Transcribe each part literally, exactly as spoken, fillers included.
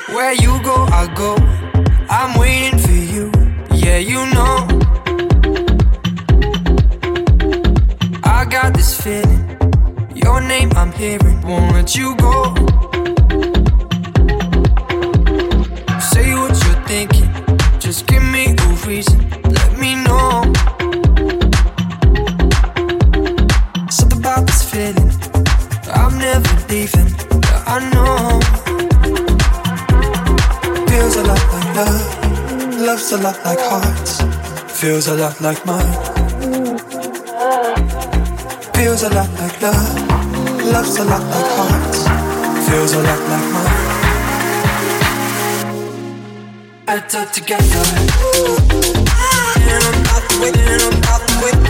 Where you go, I go. I'm waiting for you. Yeah, you know. I got this feeling. Your name I'm hearing. Won't let you go. Say what you're thinking. Just give me a reason. Let me know. Something about this feeling. I'm never leaving. Yeah, I know. Feels a lot like love. Love's a lot like hearts. Feels a lot like mine. Feels a lot like love. Love's a lot like hearts. Feels a lot like mine. Better together. And I'm out the way, and I'm out the way.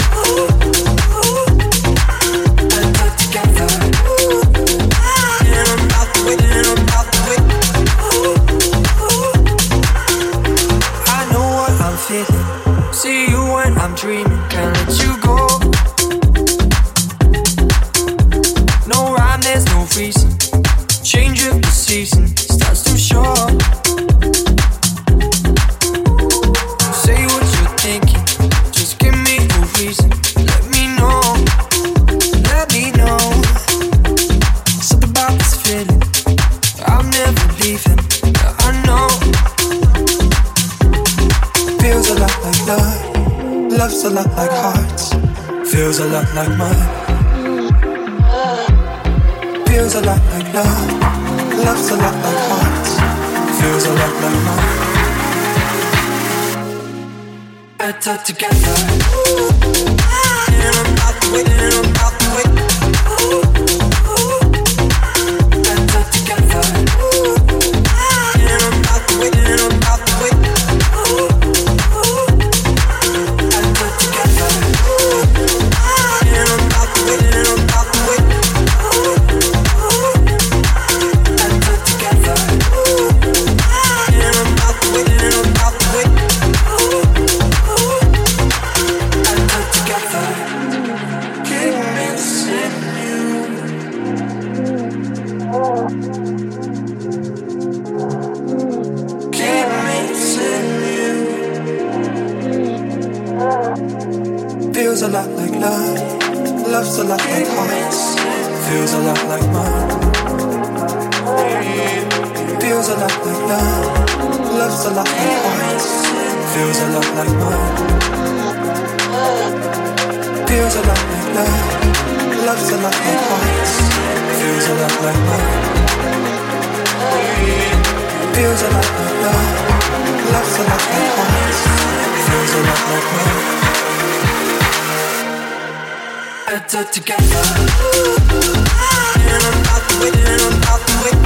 Better together. And I'm out the way, and I'm out the way. I know what I'm feeling. See you when I'm dreaming. Can't let you go. No rhyme, there's no reason. Change of the season starts to show. Say what you're thinking. Just give me a reason. Let me know. Let me know. Something about this feeling. I'm never leaving. Yeah, I know. Feels a lot like love. Love's a lot like hearts. Feels a lot like mine. Feels a lot like love. Love's a lot like hearts. Feels a lot like mine. Better together. And I'm out the way, and I'm out the way. Better together. And I'm out the way, and I'm out the way. Better together. And I'm out the way, and I'm out the way. Feels a lot like love. Love's a lot like hearts. Feels a lot like mine. Feels a lot like love. Love's a lot like hearts. Feels a lot like mine. Feels a lot like love. Love's a lot like hearts. Feels a lot like mine. Feels a lot like love. Love's a lot like hearts. Feels a lot like mine. Better together. And I'm out the way, and I'm out the way.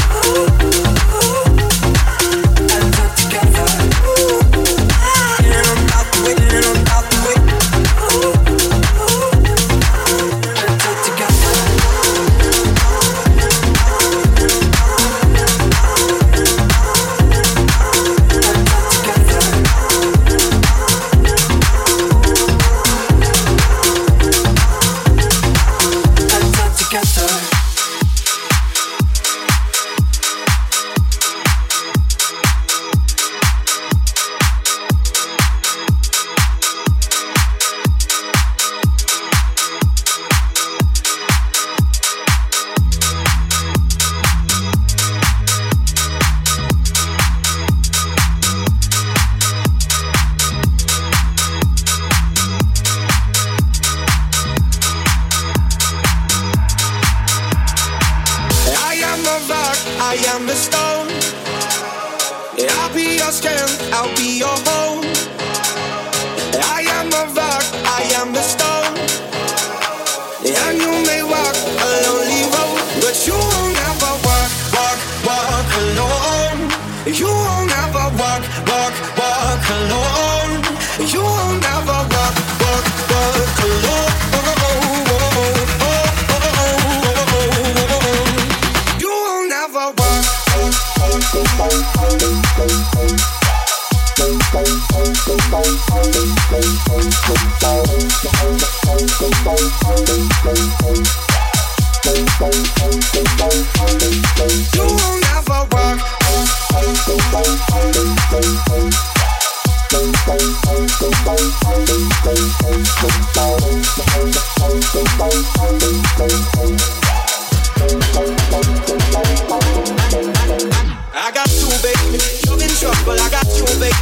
Better together. And I'm out the way, and I'm out the way. Better together. You will never work.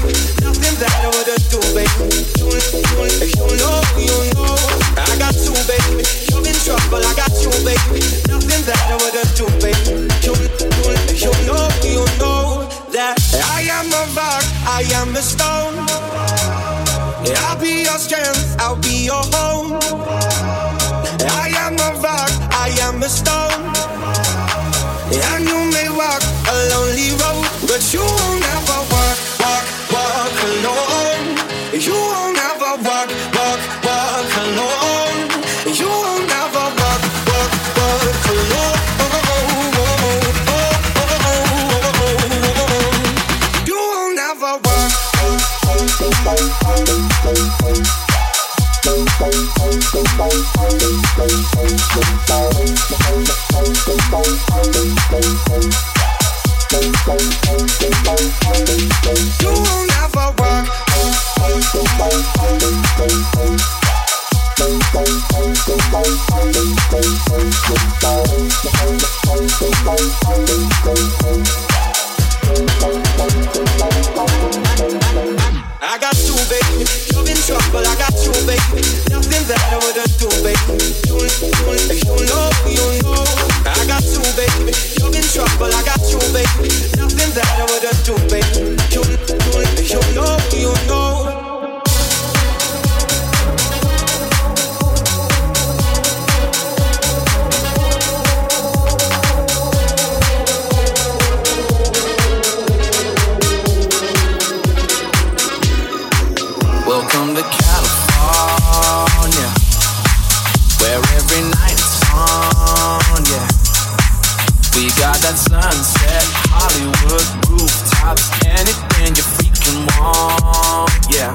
baby. Nothing that I wouldn't do, baby. You, you, you know, you know. I got you, baby. You're in trouble, I got you, baby. Nothing that I wouldn't do, baby. You, you, you know, you know that I am a rock, I am a stone. I'll be your strength, I'll be your home. I am a rock, I am a stone. And you may walk a lonely road, but you won't ever walk, walk, walk alone. You won't ever walk, walk, walk alone. You won't ever walk, walk, walk alone. You won't ever walk. You won't ever walk. I got you, baby. You're in trouble, I got you, baby. Nothing that I wouldn't do, baby. You, you, you know, you know. I got you, baby. You're in trouble, I got you, baby. Nothing that I wouldn't do, baby. You, you, you know, you know. Welcome to California, where every night it's on, yeah. We got that sunset, Hollywood rooftops, anything you freaking want, yeah.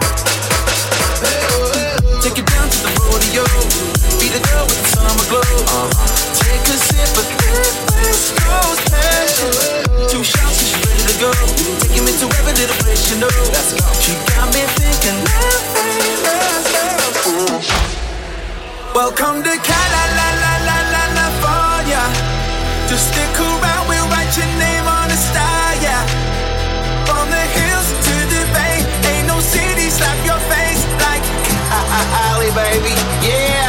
Take it down to the rodeo, be the girl with the summer glow. Uh-huh. Take a sip of that West Coast passion. Two shots and she's ready to go. Taking me to every little place you know. Let's go. She got me thinking, love, love, love. Welcome to California. Just stick around, we'll write your name on the star, yeah. From the hills to the bay, ain't no city slap your face like Cali, baby, yeah.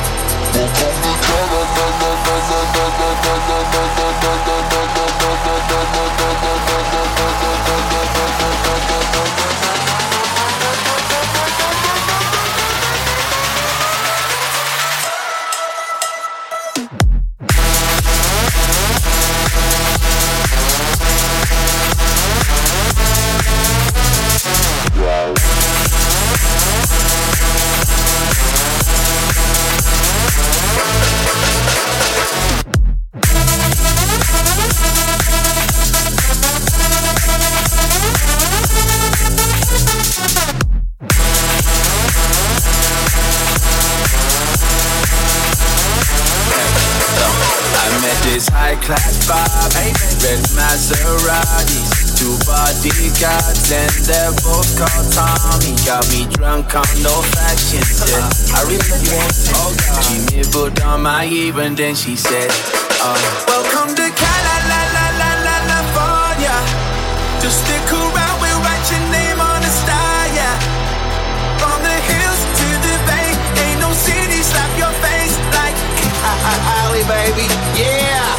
High-class Bob, red Maseratis, two bodyguards and they're both called Tommy. Got me drunk on no fashion, said I really want oh God. She nibbled on my ear and then she said uh, welcome to California. Just stick around, we'll write your name on the star, yeah. From the hills to the bay, ain't no city slap your face like Cali, baby, yeah.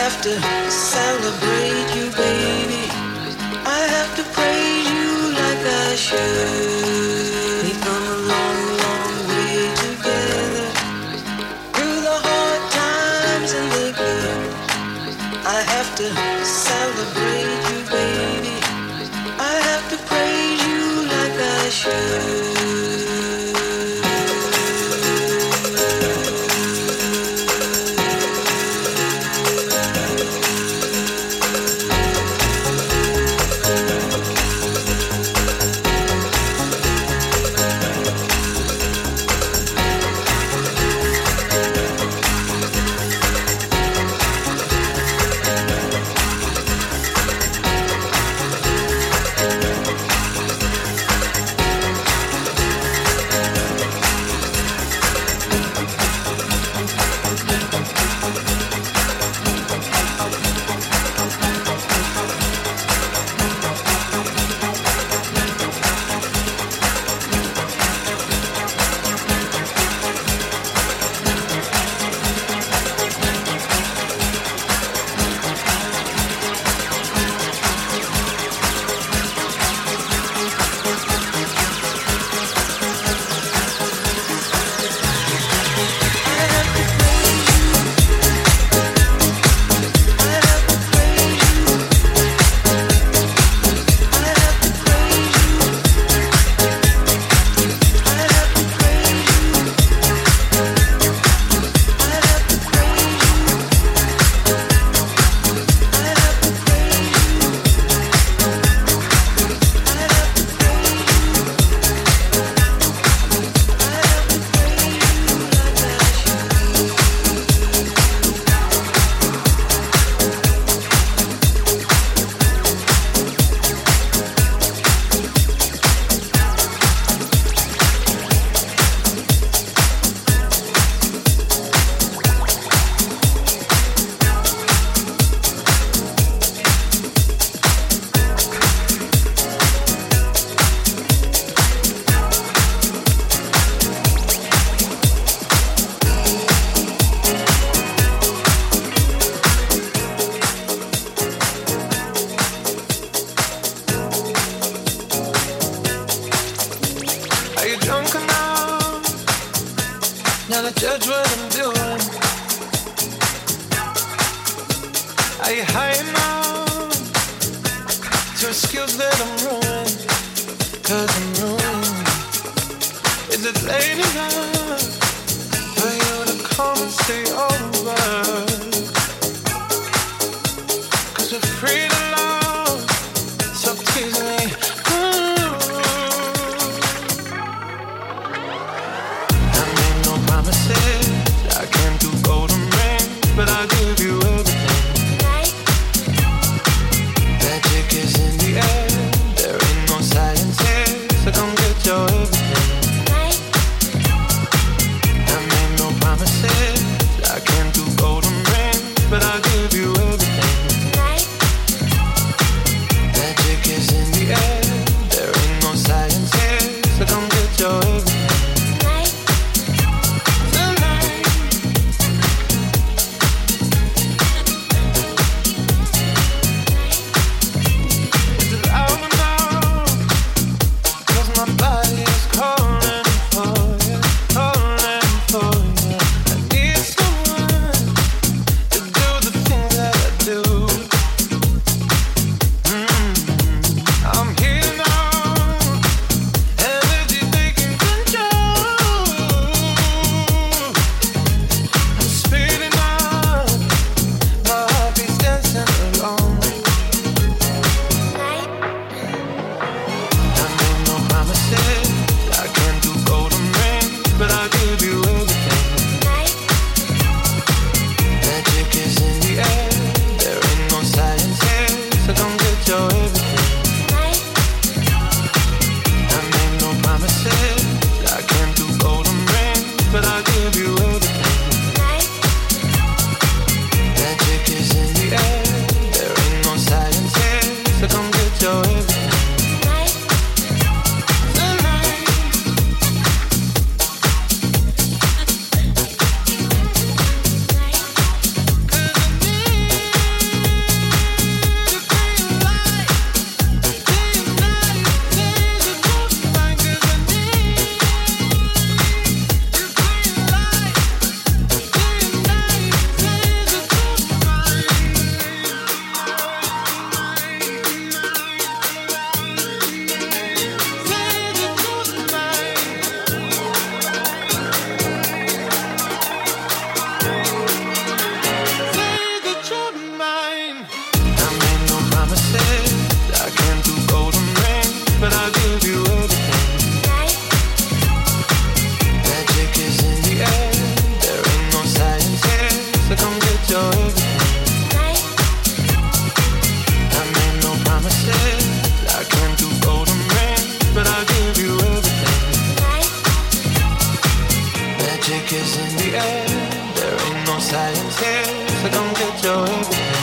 have to celebrate you, baby. I have to praise you like I should. We've come a long, long way together, through the hard times and the good. I have to celebrate you, baby. I have to praise you like I should. magic is in the air. There ain't no science here, so don't get your everything.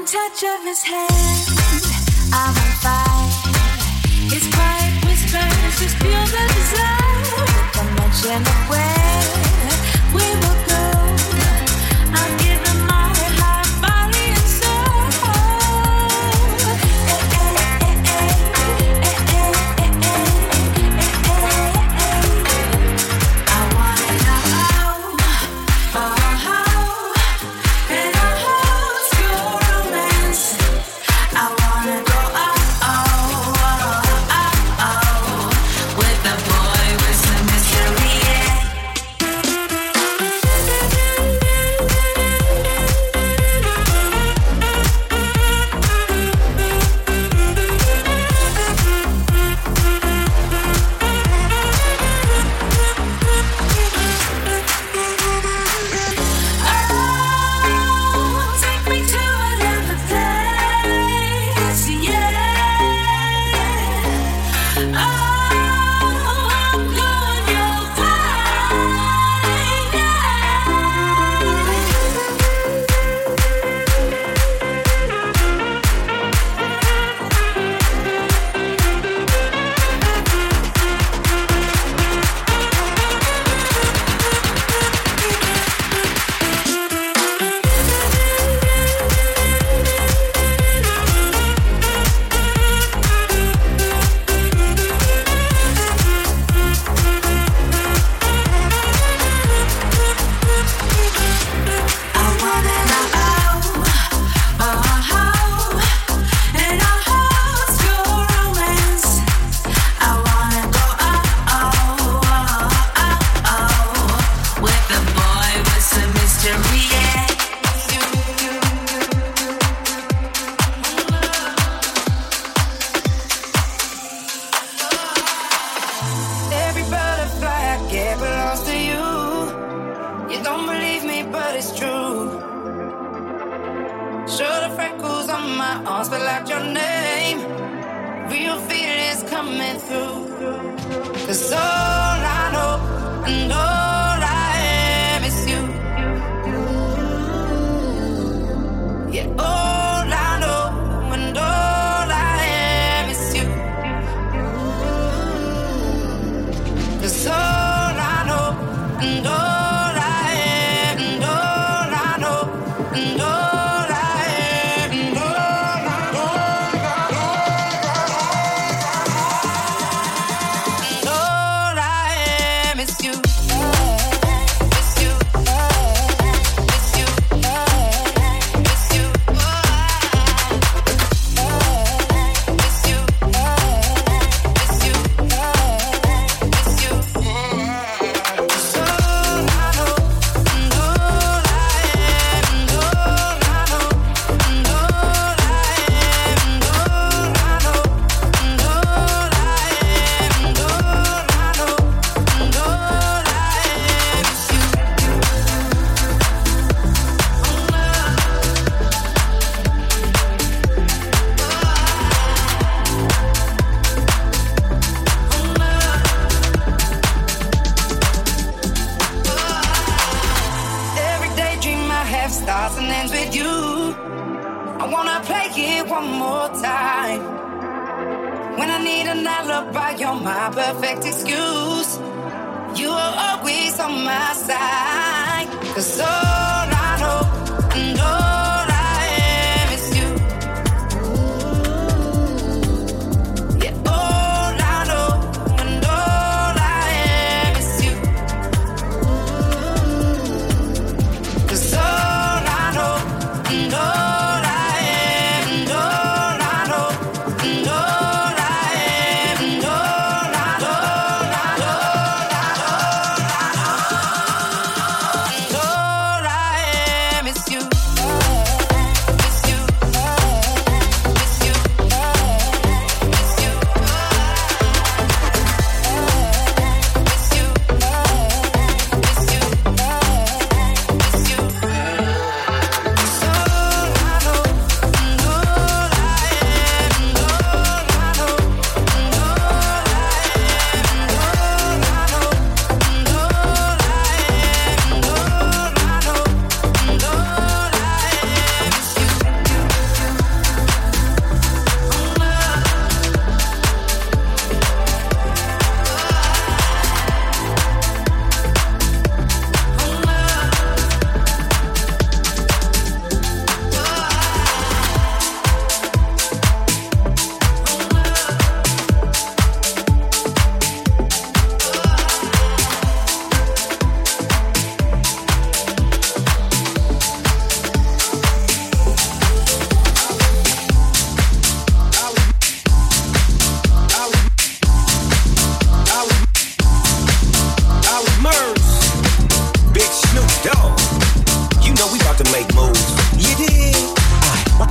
touch of his hand, I'm on fire. His quiet whispers just fuel the desire. With a mention of where we will go, I'll give him my heart, body, and soul. I wanna know, oh, in a whole school romance. I wanna go oh, oh, oh, oh, oh, with a boy with some mystery, yeah. Oh, take me to another place, yeah. Oh, I'm going your way, I wanna know, oh, in a whole school romance. I wanna go oh, oh, oh, oh, with a boy with some mystery, yeah. Every butterfly I get belongs to you. You don't believe me, but it's true. Sure, the freckles on my arms spell out your name. Real feelings coming through. 'Cause all I know and all I am is you. Yeah, all I know and all I am is you. 'Cause all I know and all I am and all I know and all I am and all I know and all I am is you. It's you. It's you. It's you. It's you. It's you. It's you. It's all I know and all I am and all I know and all I am and all I know and all I am and all I know and all I am is you. Every daydream I have starts and ends with you. I wanna play it one more time. When I need an alibi, you're my perfect excuse. You are always on my side. 'Cause all I know and all I am is you. Yeah, all I know and all I am is you. 'Cause all I know and all I am and all I know and all I am and all I know and all I know and all I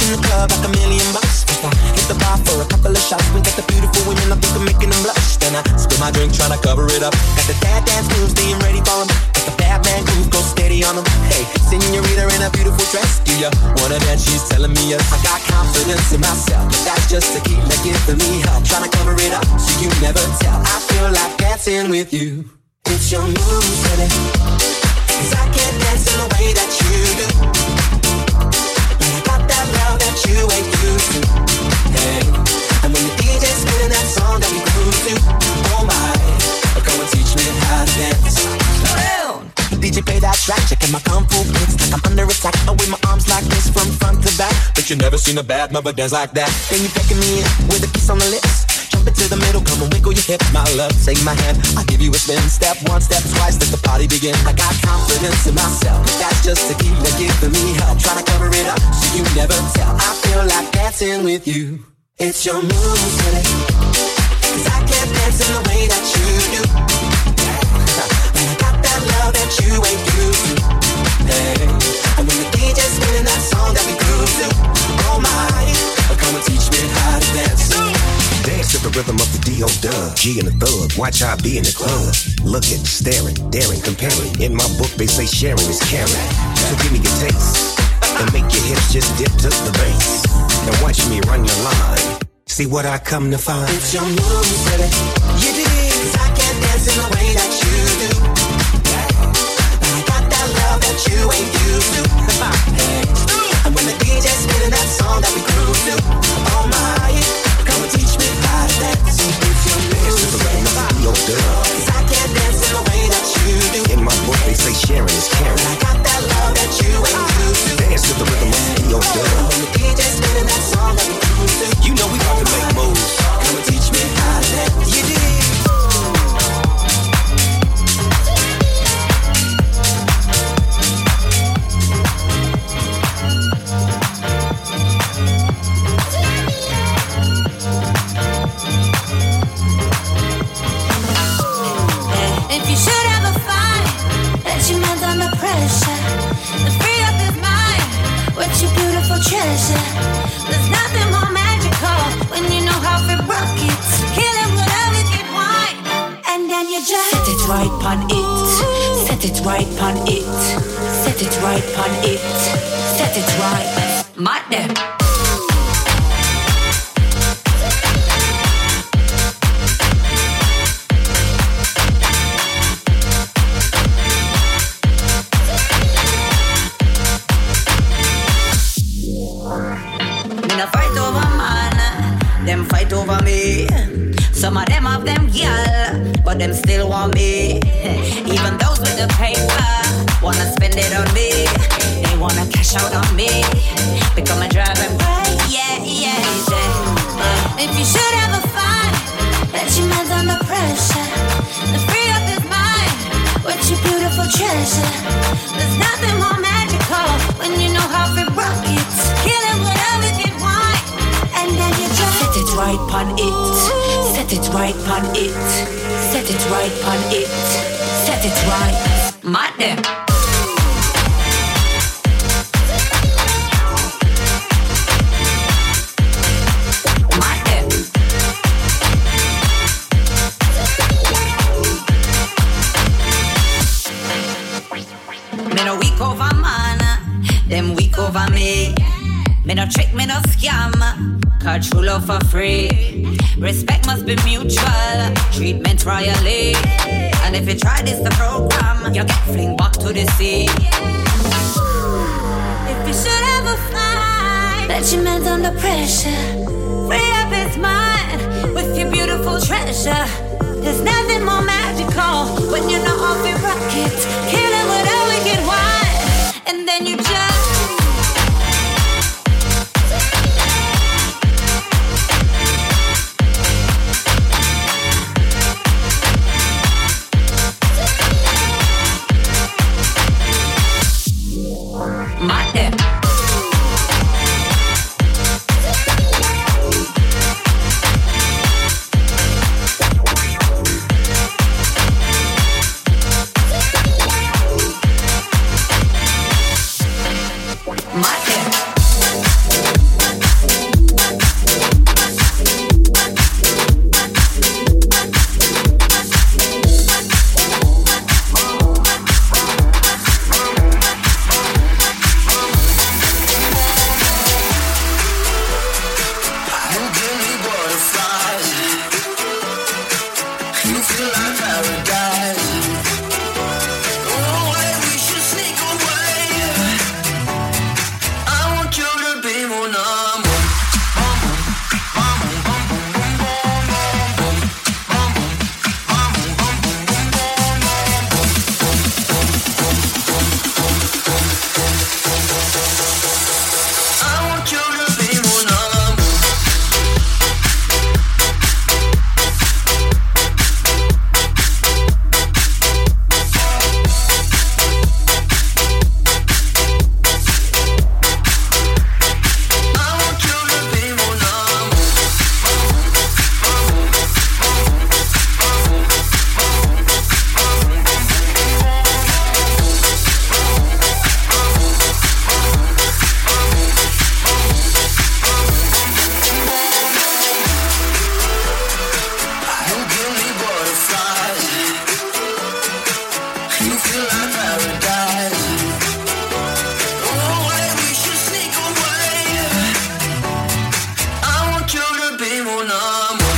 in the club like a million bucks. First I hit the bar for a couple of shots. We got the beautiful women, I think I'm making them blush. Then I spill my drink trying to cover it up. Got the dad dance moves, being ready for them. Got the bad man groove, go steady on them. Hey, senorita in a beautiful dress. Do ya wanna dance? She's telling me yes. I got confidence in myself, but that's just tequila giving me help. Trying to cover it up so you never tell. I feel like dancing with you. It's your moves, baby. Cause I can't dance in the way that you do. But I got that love that you ain't used to. Hey, and when the D J's spinning that song that we groove to, oh my, come and teach me how to dance. Slow down. D J play that track, checking my kung fu kicks like I'm under attack. I wave my arms like this from front to back. But you never seen a bad mother dance like that. Then you beckoning me in with a kiss on the lips. Jump into the middle, come and wiggle your hips, my love. Take my hand, I'll give you a spin. Step one, step twice, let the party begin. I got confidence in myself, but that's just tequila giving me help. Trying to cover it up so you never tell. I feel like dancing with you. It's your moves, baby. Cause I can't dance in the way that you do. But I got that love that you ain't used to. Hey, and when the D J's spinning that song that we groove to, oh my, come and teach me how to dance. Dance to the rhythm of the D O Dub. G and the thug, watch I be in the club. Looking, staring, daring, comparing. In my book they say sharing is caring. So give me your taste and make your hips just dip to the bass. And watch me run your line. See what I come to find. It's your moves, baby. You did. Cause I can't dance in the way that you do. But I got that love that you ain't used to. Hey. And when the D J's spinning that song that we groove to, oh my, come and teach me how to dance. It's your moves, baby. Cause I can't dance in the way that you do. In my book they say sharing is caring. But I got that love that you ain't used to. Dance to the rhythm of the D O Dub. When the D J's spinning that song that we groove to, you know we about to make moves. come and teach me how to dance. You did. If you should ever find that your man's under pressure, then free up his mind with your beautiful treasure. There's nothing more magical when you know how to rock it. Kill him with a wicked wine, and then you just set it right pon it, set it right pon it, set it right pon it, set it right, my damn. Fight over man, them fight over me. Some of them have them gyal, but them still want me. Even those with the paper wanna spend it on me. They wanna cash out on me, become a driving right, yeah, yeah, yeah. if you should ever find that your man's under pressure, then free up his mind with your beautiful treasure. There's nothing more magical when you know how to rock it. Kill him with a wicked wine, and then you just set it right pon it, set it right pon it, set it right pon it, set it right, my damn. Them weak over me. Me no trick, me no scam. Cause true love for free. Respect must be mutual. Treatment royally. And if you try this the program, you get fling back to the sea. if you should ever find that your man's under pressure, free up his mind with your beautiful treasure. There's nothing more magical when you know how to rock it. Kill it with a wicked wine, and then you just my damn. mon amour.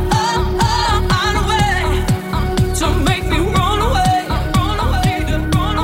Run away, run away.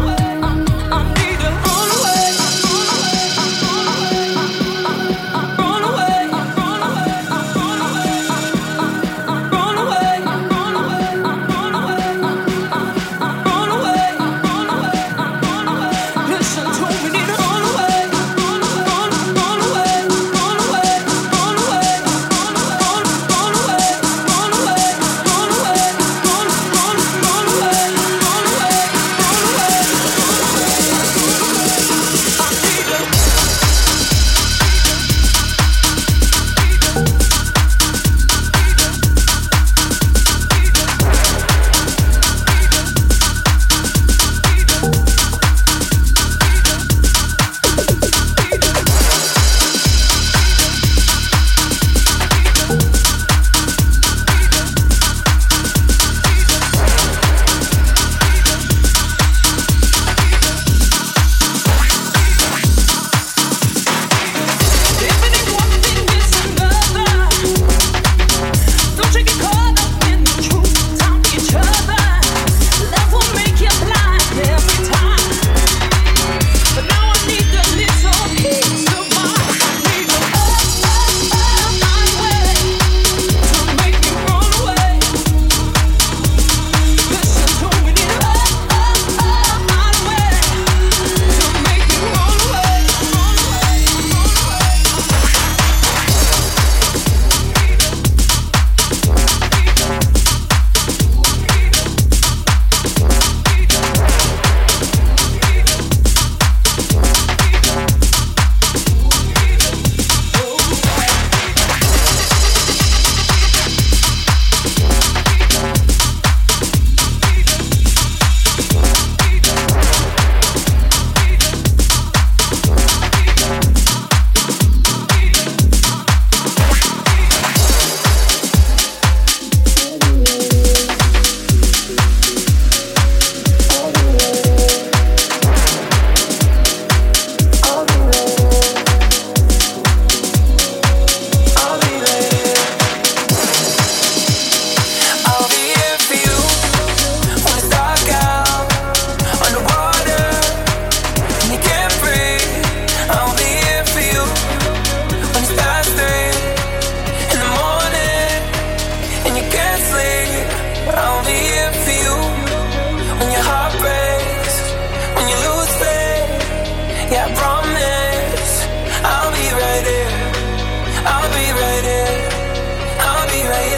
Yeah, I promise I'll be right here. I'll be right here. I'll be right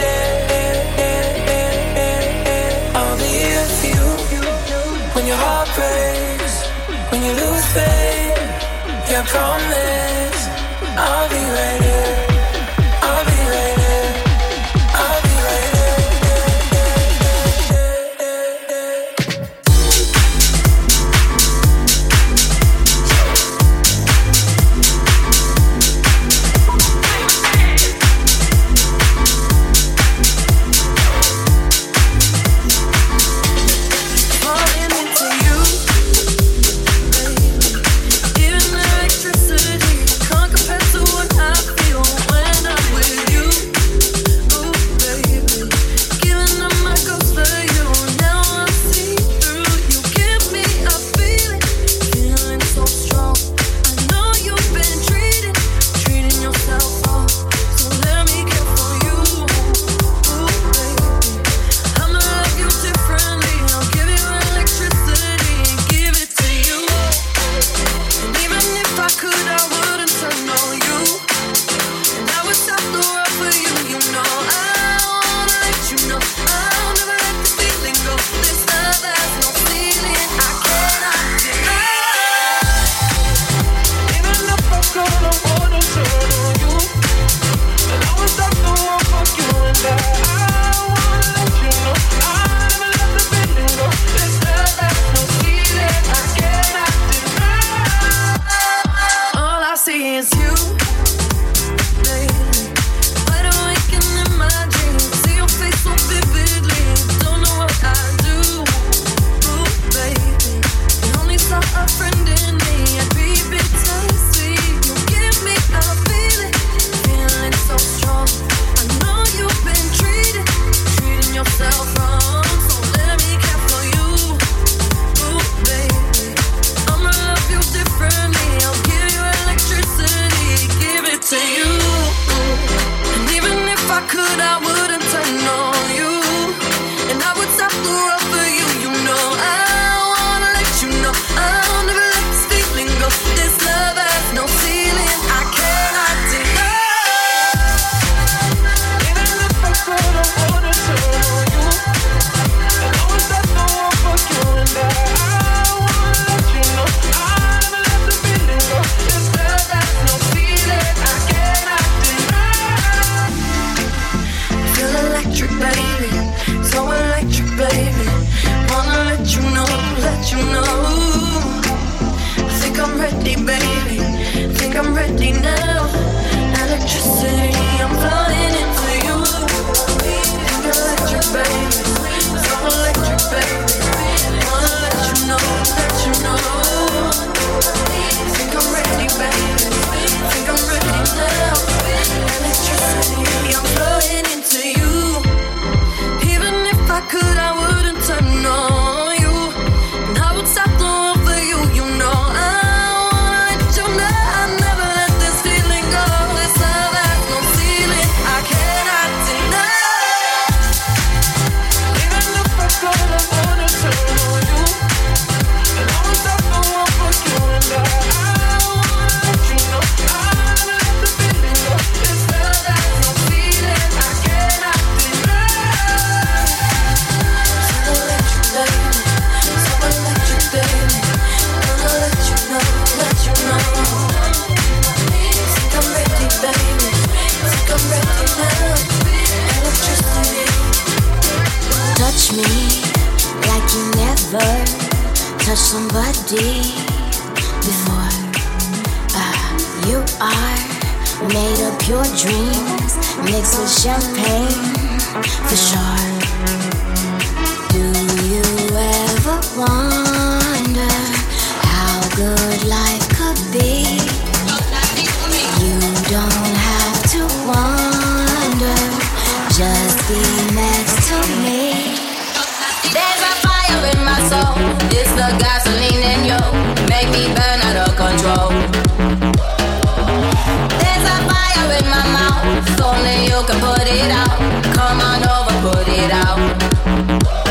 here. I'll be here for you when your heart breaks, when you lose faith. Yeah, I promise I'll be right here. I'll be right here. I'll be right here.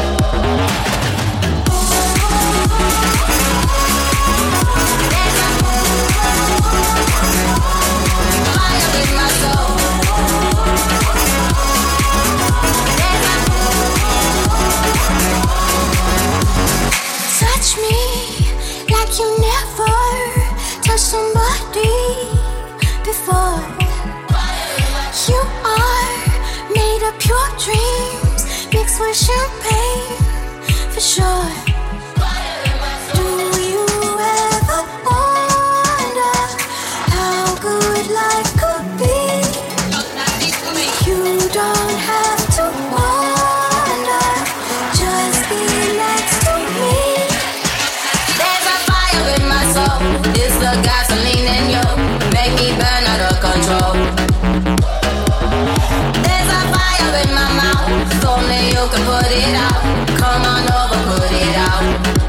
There's a champagne for sure. Do you ever wonder how good life could be? You don't have to wonder, just be next to me. There's a fire in my soul, it's the gasoline in you, make me burn out of control. There's a fire in my mouth, only you can put it out. Come on over, put it out.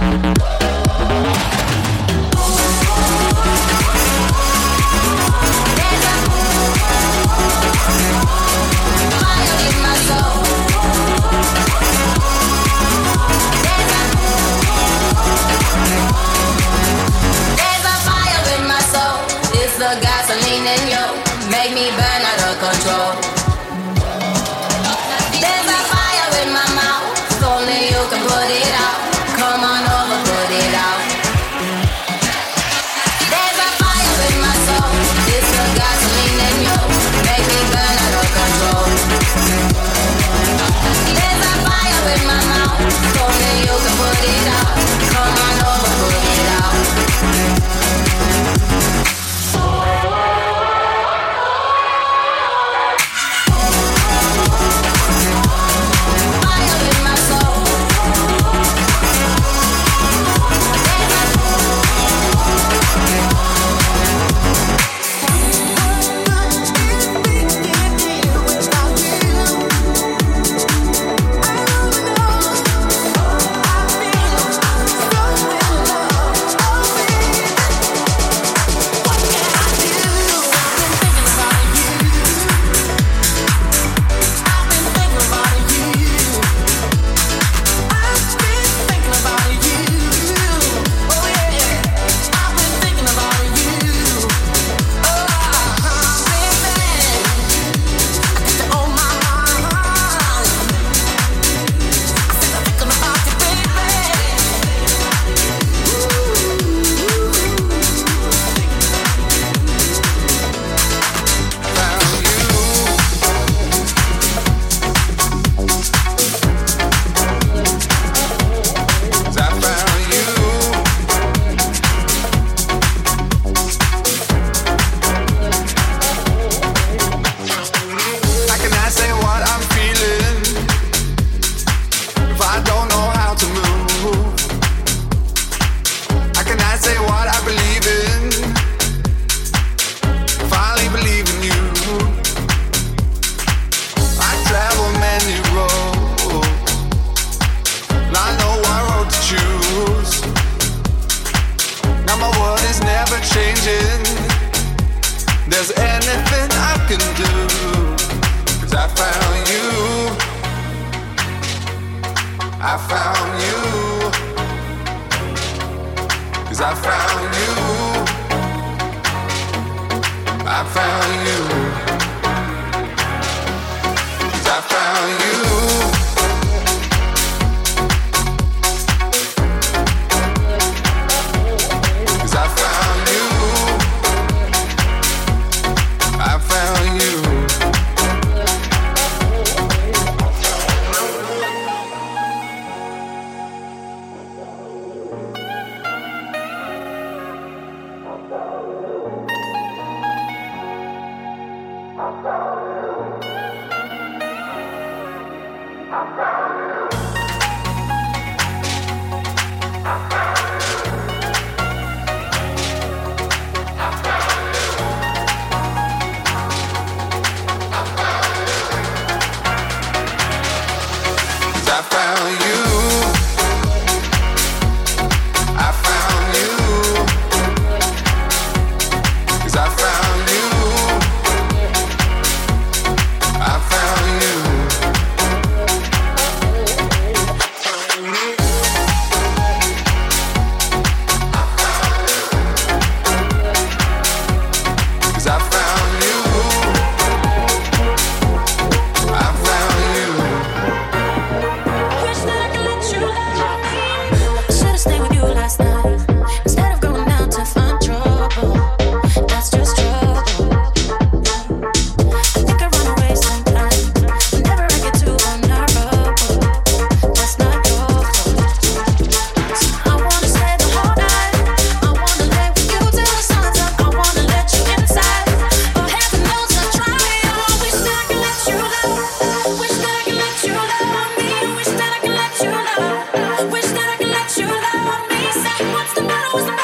There's a fire in my soul. There's a There's a fire in my soul, it's the gasoline in you, make me burn out of control. There's a fire in my mouth, only you can put it out. Come on over, put it out. There's a fire in my soul, it's the gasoline in you, make me burn out of control. There's a fire in my mouth, only you can put it out. Come on over, put it out. Fire in my soul. There's anything I can do, 'cause I found you. I found you. 'Cause I found you. I found you. 'Cause I found you.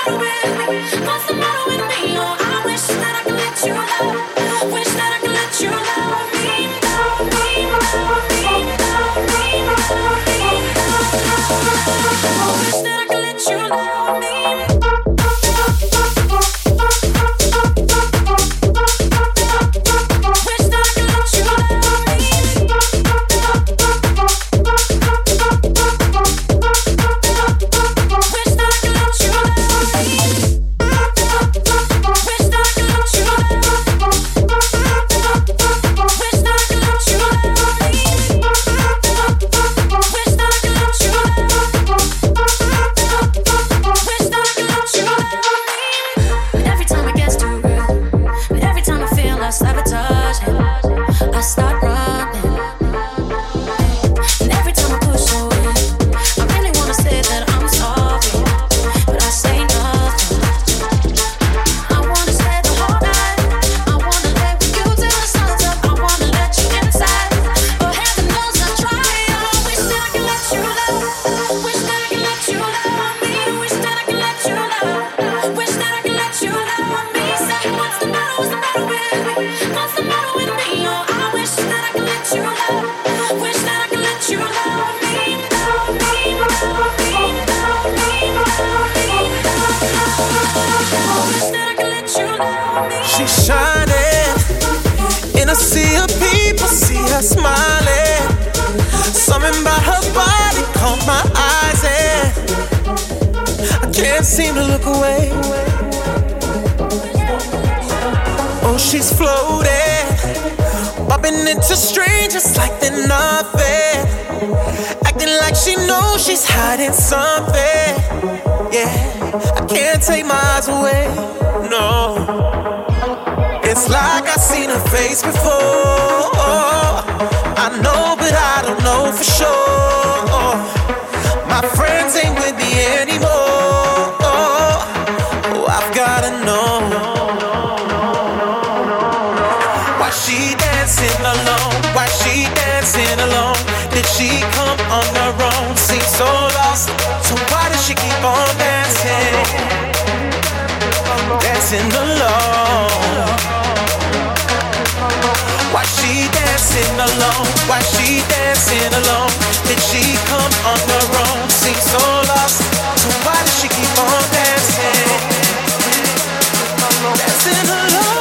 matter with me? What's the matter with me? Oh, I wish that I could let you love. Wish that I could let you love me, love me, love me, love me, love me, love me. I wish that I could let you love me. She's shining in a sea of people, see her smiling. Something about her body caught my eyes and I can't seem to look away. Oh, she's floating, bumping into strangers like they're nothing, acting like she knows she's hiding something. Yeah, I can't take my eyes away, no. It's like I've seen her face before. I know, but I don't know for sure. My friends ain't with me anymore. Oh, I've gotta know. Why she dancing alone? Why she dancing alone? Did she come on her own? Seems so lost. So why does she keep on dancing? Dancing alone. Why she dancing alone? Why she dancing alone? Did she come on her own? Seems so lost. So why does she keep on dancing? Dancing alone.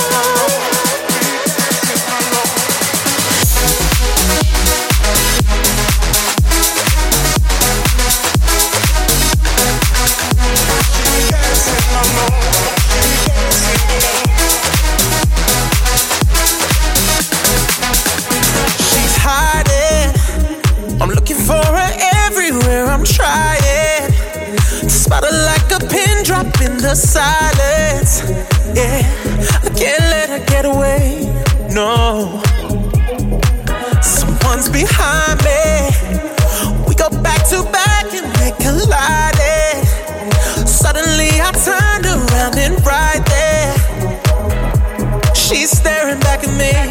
In the silence, yeah, I can't let her get away, no. Someone's behind me. We go back to back and they collided. Suddenly I turned around and right there, she's staring back at me.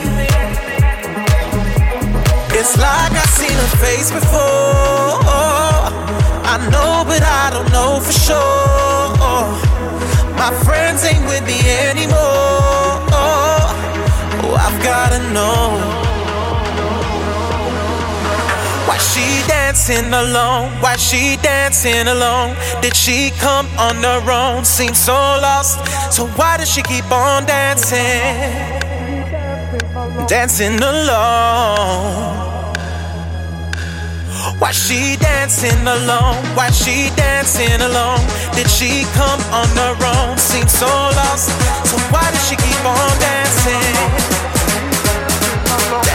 It's like I've seen her face before. I know, but I don't know for sure. My friends ain't with me anymore. Oh, I've gotta know. Why she dancing alone? Why she dancing alone? Did she come on her own? Seems so lost. So why does she keep on dancing? Dancing alone. Why she dancing alone? Why she dancing alone? Did she come on her own? Seems so lost. So why does she keep on dancing?